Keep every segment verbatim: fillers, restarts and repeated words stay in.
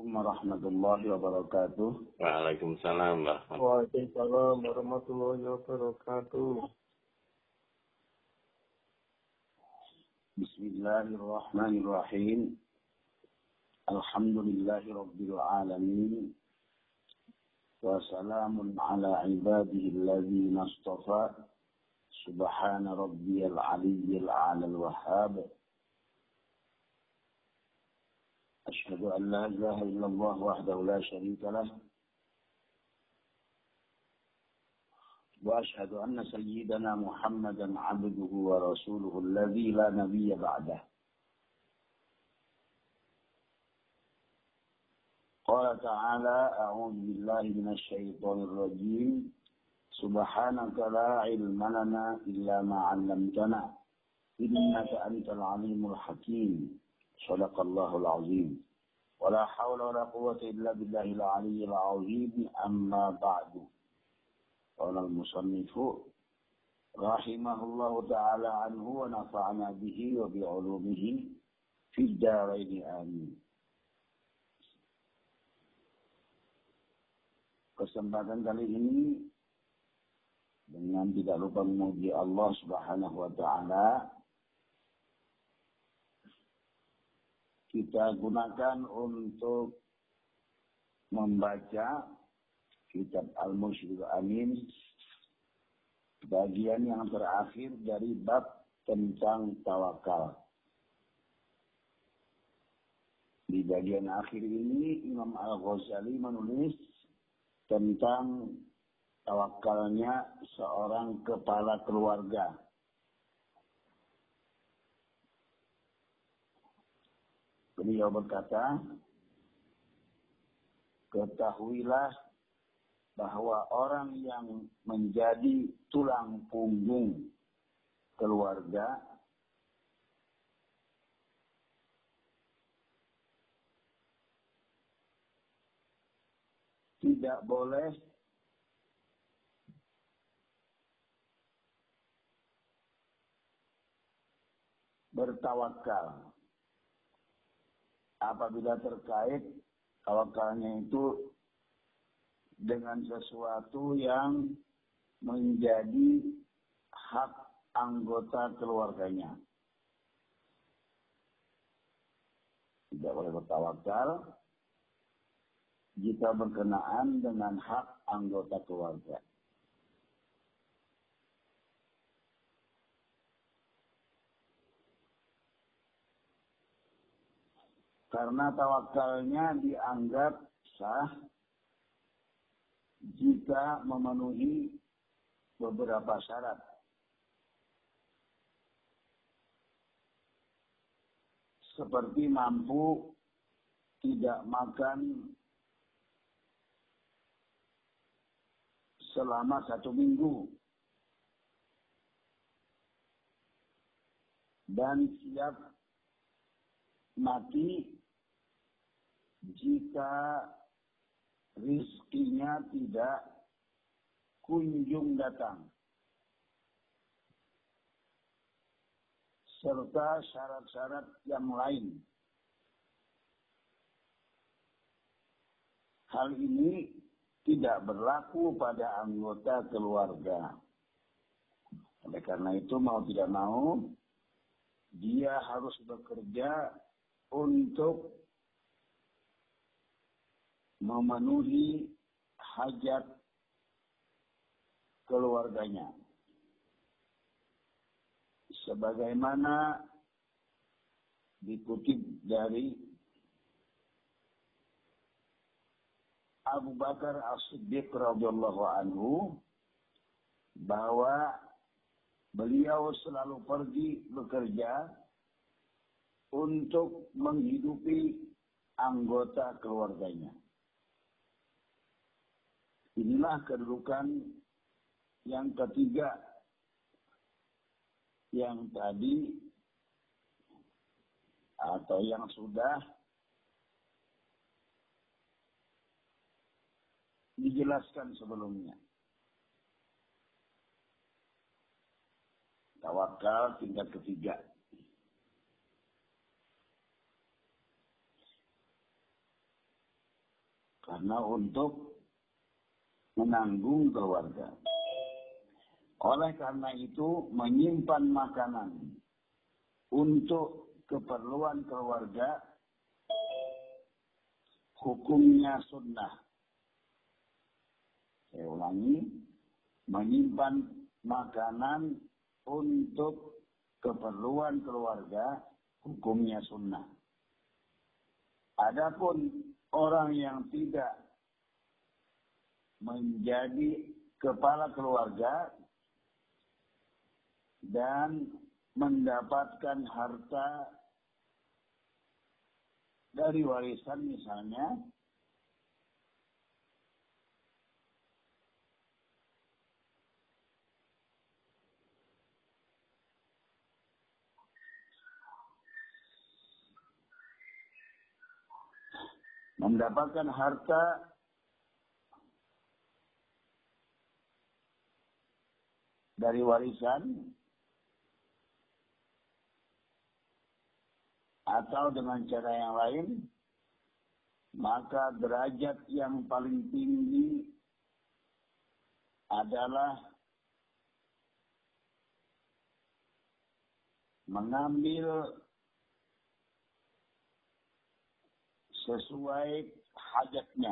Assalamualaikum warahmatullahi wabarakatuh. Waalaikumsalam Waalaikumsalam warahmatullahi wabarakatuh. Bismillahirrahmanirrahim. Alhamdulillahi rabbil alamin. Wa salamun ala ibadihi alladhina astafa. Subhana rabbiyal aliyyil a'lal wahhab. Asyhadu an la ilaha illallah wahdahu la syarika lah. Wa asyhadu anna sayyidana Muhammadan 'abduhu wa rasuluhu alladzi la nabiyya ba'dah. Qala ta'ala a'udzu billahi minasy syaithanir rajim. Subhanaka la ilma lana illa ma 'allamtana. Innaka antal 'alimul hakim. Shadaqallahul azim. Wala hawla wala quwwata illa billahil aliyyil azim. Amma ba'du. Qala al-musannifu rahimahullahu ta'ala anhu wa nafa'ana bihi wa bi'ulumihi fid dharain amin. Kesempatan kali ini dengan tidak lupa memuji Allah Subhanahu wa ta'ala, kita gunakan untuk membaca kitab Al-Mursyidul Amin, bagian yang terakhir dari bab tentang tawakal. Di bagian akhir ini Imam Al-Ghazali menulis tentang tawakalnya seorang kepala keluarga. Beliau berkata, ketahuilah bahwa orang yang menjadi tulang punggung keluarga tidak boleh bertawakal apabila terkait tawakalnya itu dengan sesuatu yang menjadi hak anggota keluarganya. Tidak boleh bertawakal jika berkenaan dengan hak anggota keluarga. Karena tawakalnya dianggap sah jika memenuhi beberapa syarat. Seperti mampu tidak makan selama satu minggu dan siap mati jika rizkinya tidak kunjung datang, serta syarat-syarat yang lain. Hal ini tidak berlaku pada anggota keluarga. Oleh karena itu, mau tidak mau, dia harus bekerja untuk memenuhi hajat keluarganya. Sebagaimana dikutip dari Abu Bakar As-Siddiq radhiyallahu anhu bahwa beliau selalu pergi bekerja untuk menghidupi anggota keluarganya. Inilah kedudukan yang ketiga yang tadi atau yang sudah dijelaskan sebelumnya. Tawakal tingkat ketiga. karena untuk menanggung keluarga. Oleh karena itu menyimpan makanan untuk keperluan keluarga hukumnya sunnah. Saya ulangi, menyimpan makanan untuk keperluan keluarga hukumnya sunnah. Adapun orang yang tidak menjadi kepala keluarga dan mendapatkan harta dari warisan misalnya, mendapatkan harta dari warisan atau dengan cara yang lain, maka derajat yang paling tinggi adalah mengambil sesuai hajatnya.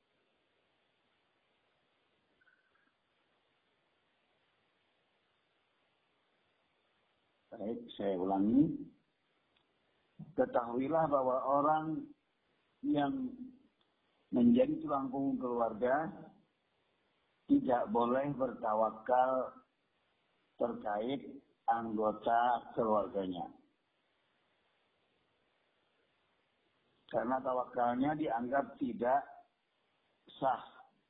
Baik, saya ulangi. Ketahuilah bahwa orang yang menjadi tulang punggung keluarga tidak boleh bertawakal terkait anggota keluarganya. Karena tawakalnya dianggap tidak sah.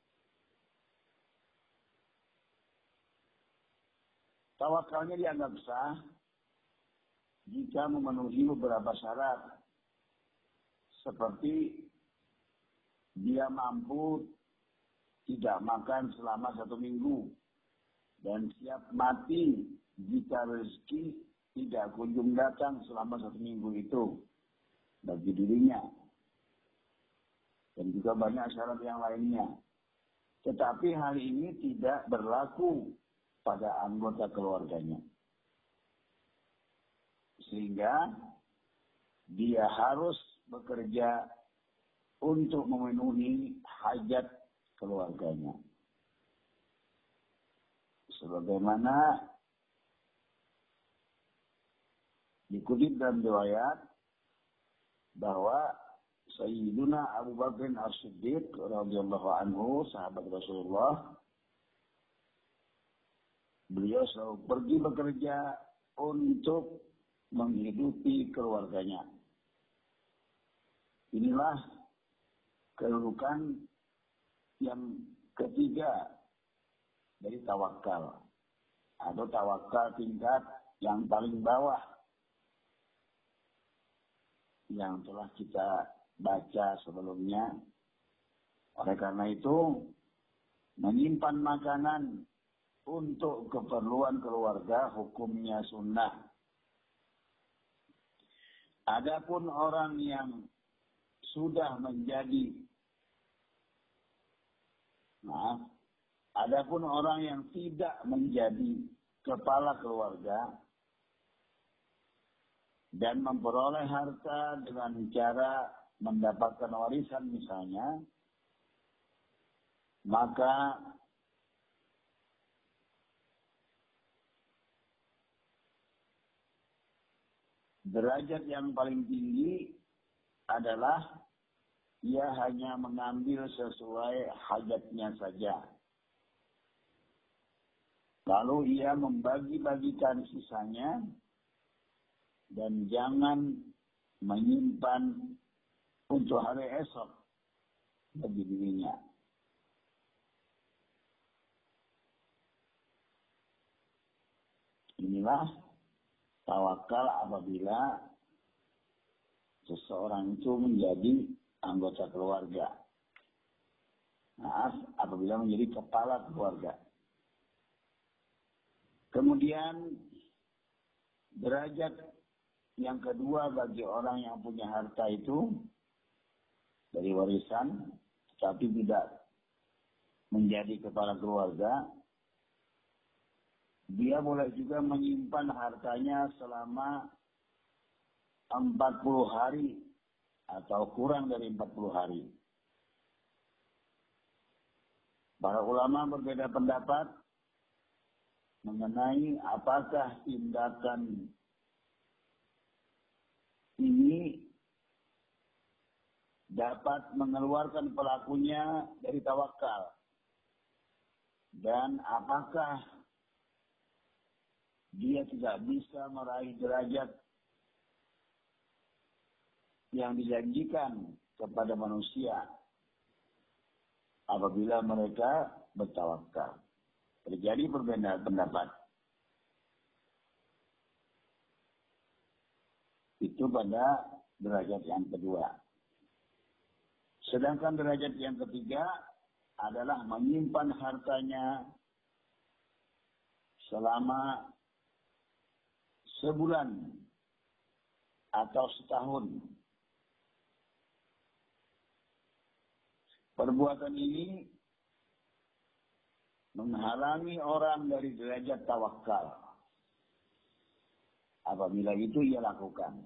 Tawakalnya dianggap sah jika memenuhi beberapa syarat. Seperti dia mampu tidak makan selama satu minggu dan siap mati jika rezeki tidak kunjung datang selama satu minggu itu bagi dirinya. Dan juga banyak syarat yang lainnya. Tetapi hal ini tidak berlaku pada anggota keluarganya. Sehingga dia harus bekerja untuk memenuhi hajat keluarganya. Sebagaimana dikutip dalam riwayat bahwa Sayyiduna Abu Bakar As-Siddiq radhiyallahu anhu, sahabat Rasulullah, beliau selalu pergi bekerja untuk menghidupi keluarganya. Inilah kedudukan yang ketiga dari tawakal, atau tawakal tingkat yang paling bawah yang telah kita baca sebelumnya. Oleh karena itu, menyimpan makanan untuk keperluan keluarga hukumnya sunnah. Adapun orang yang sudah menjadi maaf, adapun orang yang tidak menjadi kepala keluarga dan memperoleh harta dengan cara mendapatkan warisan misalnya, maka derajat yang paling tinggi adalah ia hanya mengambil sesuai hajatnya saja. Lalu ia membagi-bagikan sisanya dan jangan menyimpan untuk hari esok bagi dirinya. Inilah tawakal apabila seseorang itu menjadi anggota keluarga. Maaf, apabila menjadi kepala keluarga. Kemudian derajat yang kedua bagi orang yang punya harta itu dari warisan tapi tidak menjadi kepala keluarga, dia boleh juga menyimpan hartanya selama empat puluh hari atau kurang dari empat puluh hari. Para ulama berbeda pendapat mengenai apakah tindakan ini dapat mengeluarkan pelakunya dari tawakal, dan apakah dia tidak bisa meraih derajat yang dijanjikan kepada manusia apabila mereka bertawakal. Terjadi perbedaan pendapat. Itu pada derajat yang kedua. Sedangkan derajat yang ketiga adalah menyimpan hartanya selama sebulan atau setahun. Perbuatan ini menghalangi orang dari derajat tawakal. Apabila itu ia lakukan.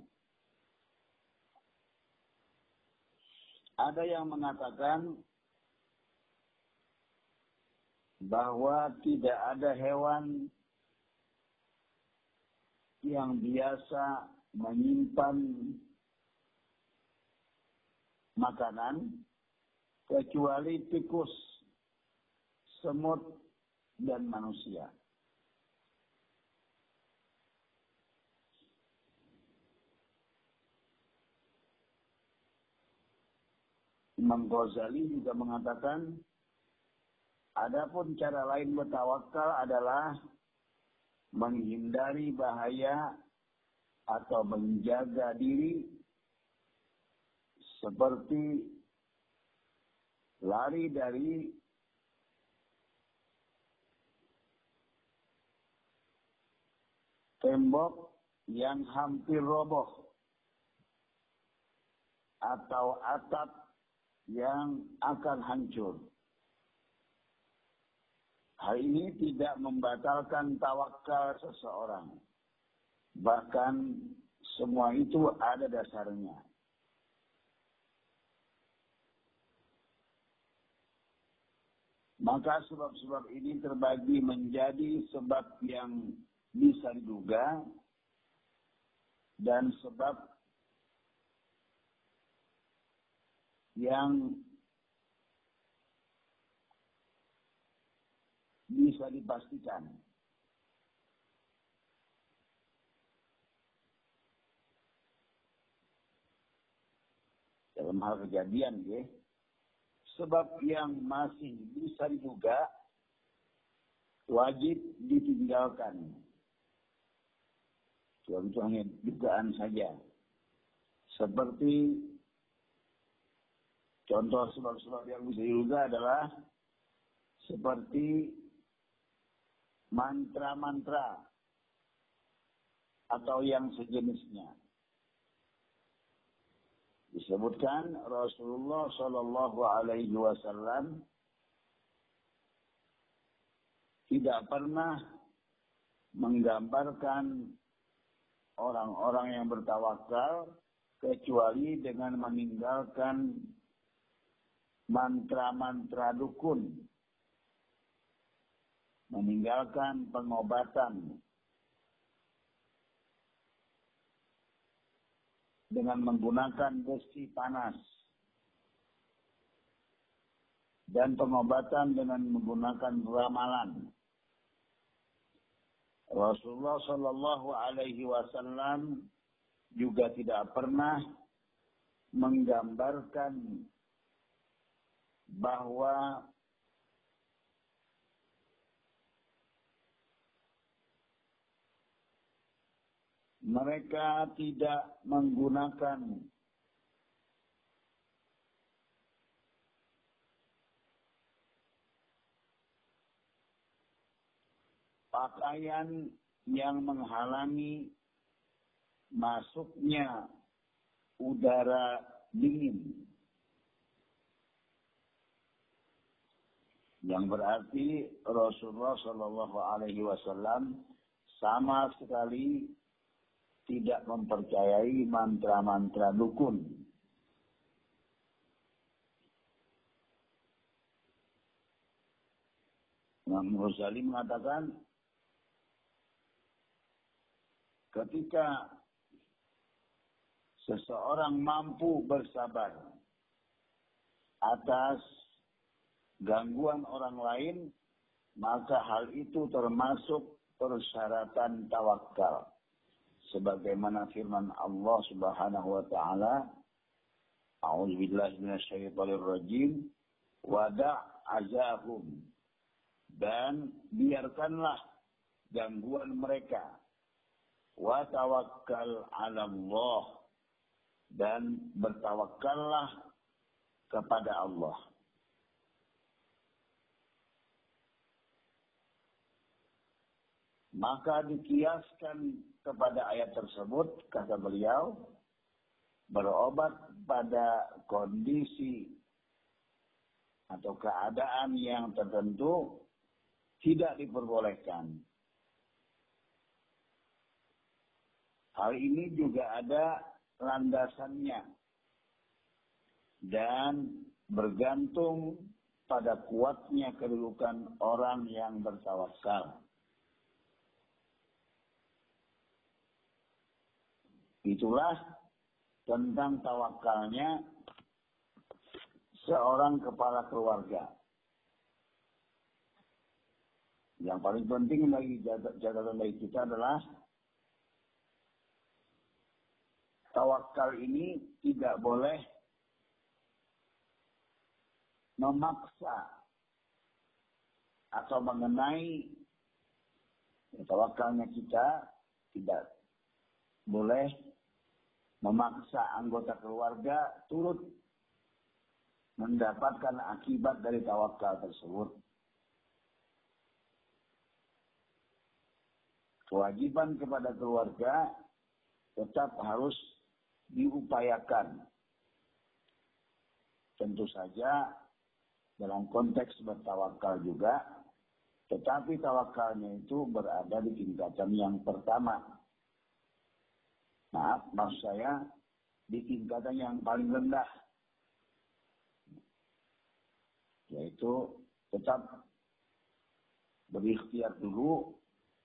Ada yang mengatakan bahwa tidak ada hewan yang biasa menyimpan makanan kecuali tikus, semut, dan manusia. Imam Ghazali juga mengatakan, adapun cara lain bertawakal adalah menghindari bahaya atau menjaga diri seperti lari dari tembok yang hampir roboh atau atap yang akan hancur. Hal ini tidak membatalkan tawakal seseorang. Bahkan semua itu ada dasarnya. Maka sebab-sebab ini terbagi menjadi sebab yang bisa diduga dan sebab yang bisa dipastikan. Dalam hal kejadian, ya, sebab yang masih bisa diduga wajib ditinggalkan. Itu hanya dugaan saja. Seperti contoh sebab-sebab yang bisa diduga adalah seperti mantra-mantra atau yang sejenisnya. Disebutkan Rasulullah Shallallahu Alaihi Wasallam tidak pernah menggambarkan orang-orang yang bertawakal kecuali dengan meninggalkan mantra-mantra dukun, meninggalkan pengobatan dengan menggunakan besi panas dan pengobatan dengan menggunakan ramalan. Rasulullah Shallallahu Alaihi Wasallam juga tidak pernah menggambarkan bahwa mereka tidak menggunakan pakaian yang menghalangi masuknya udara dingin. Yang berarti Rasulullah Shallallahu Alaihi Wasallam sama sekali tidak mempercayai mantra-mantra dukun. Imam Ghazali mengatakan, ketika seseorang mampu bersabar atas gangguan orang lain, maka hal itu termasuk persyaratan tawakal. Sebagaimana firman Allah Subhanahu wa taala, A'udzubillahi minasyaitonir rajim, wada' azahum, dan biarkanlah gangguan mereka, wa tawakkal 'ala Allah, dan bertawakallah kepada Allah. Maka dikiaskan kepada ayat tersebut, kata beliau, berobat pada kondisi atau keadaan yang tertentu tidak diperbolehkan. Hal ini juga ada landasannya dan bergantung pada kuatnya kedudukan orang yang bertawakal. Itulah tentang tawakalnya seorang kepala keluarga. Yang paling penting bagi catatan bagi kita adalah tawakal ini tidak boleh memaksa atau mengenai tawakalnya kita, tidak boleh memaksa anggota keluarga turut mendapatkan akibat dari tawakal tersebut. Kewajiban kepada keluarga tetap harus diupayakan. Tentu saja dalam konteks bertawakal juga, tetapi tawakalnya itu berada di tingkatan yang pertama. Maaf, maksud saya di tingkatan yang paling rendah, yaitu tetap berikhtiar dulu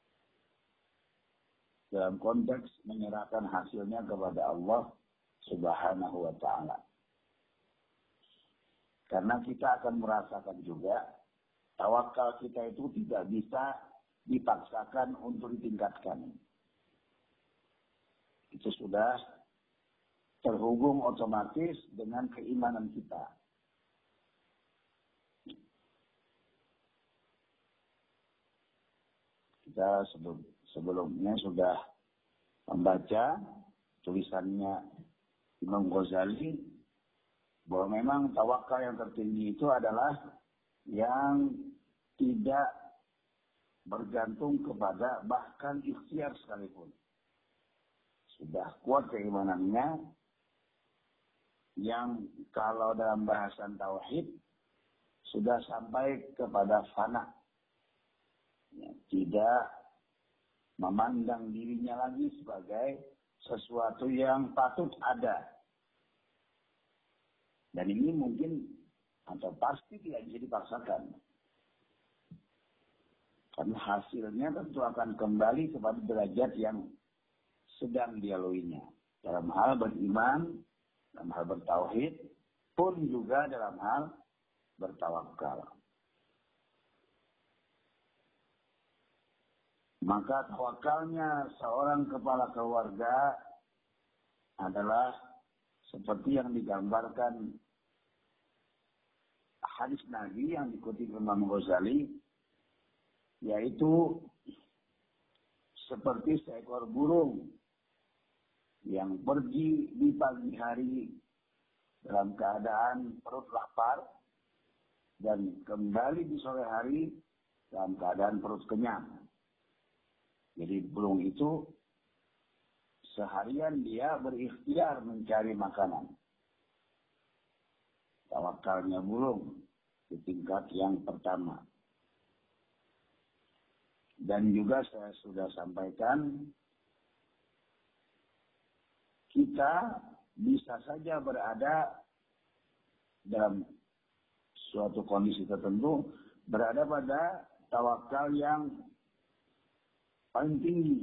dalam konteks menyerahkan hasilnya kepada Allah Subhanahu wa taala. Karena kita akan merasakan juga tawakal kita itu tidak bisa dipaksakan untuk ditingkatkan. Itu sudah terhubung otomatis dengan keimanan kita. Kita sebelum, sebelumnya sudah membaca tulisannya Imam Ghazali bahwa memang tawakal yang tertinggi itu adalah yang tidak bergantung kepada bahkan ikhtiar sekalipun. Sudah kuat keimanannya, yang kalau dalam bahasan tauhid sudah sampai kepada fana, ya, tidak memandang dirinya lagi sebagai sesuatu yang patut ada. Dan ini mungkin atau pasti tidak bisa dipaksakan. Karena hasilnya tentu akan kembali kepada derajat yang sedang dilaluinya. Dalam hal beriman, dalam hal bertauhid, pun juga dalam hal bertawakal. Maka tawakalnya seorang kepala keluarga adalah seperti yang digambarkan hadis Nabi yang dikutip Imam Ghazali, yaitu seperti seekor burung yang pergi di pagi hari dalam keadaan perut lapar dan kembali di sore hari dalam keadaan perut kenyang. Jadi burung itu seharian dia berikhtiar mencari makanan. Tawakalnya burung di tingkat yang pertama. Dan juga saya sudah sampaikan, kita bisa saja berada dalam suatu kondisi tertentu, berada pada tawakal yang paling tinggi.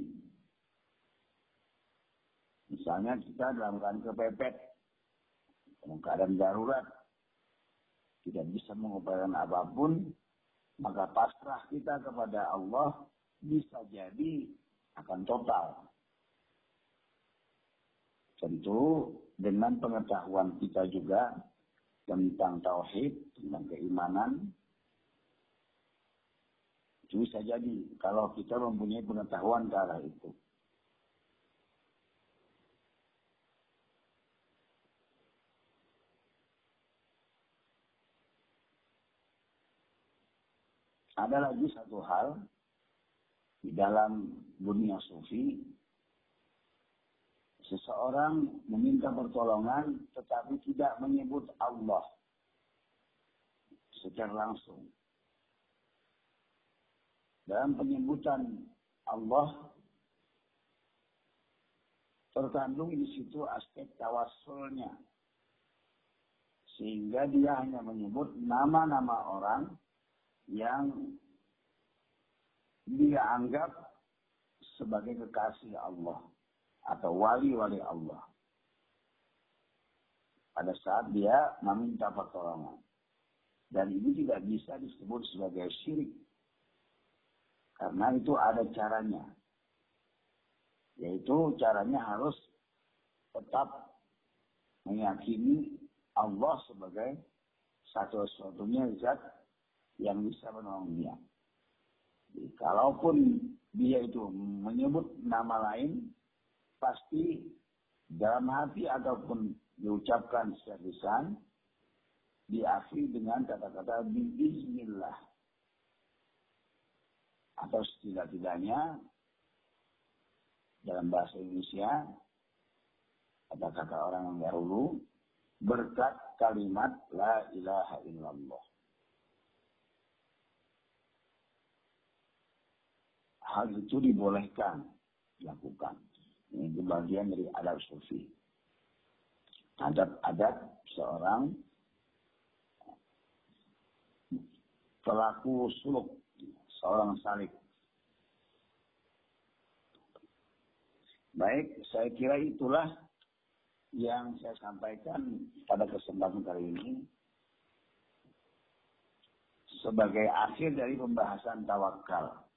Misalnya kita dalam keadaan kepepet, dalam keadaan darurat, tidak bisa mengupayakan apapun, maka pasrah kita kepada Allah bisa jadi akan total. Tentu dengan pengetahuan kita juga tentang tauhid, tentang keimanan, itu bisa jadi kalau kita mempunyai pengetahuan ke arah itu. Ada lagi satu hal di dalam dunia sufi, seseorang meminta pertolongan tetapi tidak menyebut Allah secara langsung. Dalam penyebutan Allah terkandung di situ aspek tawassulnya, sehingga dia hanya menyebut nama-nama orang yang dia anggap sebagai kekasih Allah atau wali-wali Allah pada saat dia meminta pertolongan. Dan ini tidak bisa disebut sebagai syirik, karena itu ada caranya, yaitu caranya harus tetap meyakini Allah sebagai satu-satunya zat yang bisa menolong dia. Jadi, kalaupun dia itu menyebut nama lain, pasti dalam hati ataupun diucapkan secara lisan, diakhiri dengan kata-kata biiznillah. Atau setidak-tidaknya dalam bahasa Indonesia, kata-kata orang yang dahulu, berkat kalimat la ilaha illallah. Hal itu dibolehkan dilakukan. Ini bagian dari adab sufi. Adab-adab seorang pelaku suluk, seorang salik. Baik, saya kira itulah yang saya sampaikan pada kesempatan kali ini sebagai akhir dari pembahasan tawakal.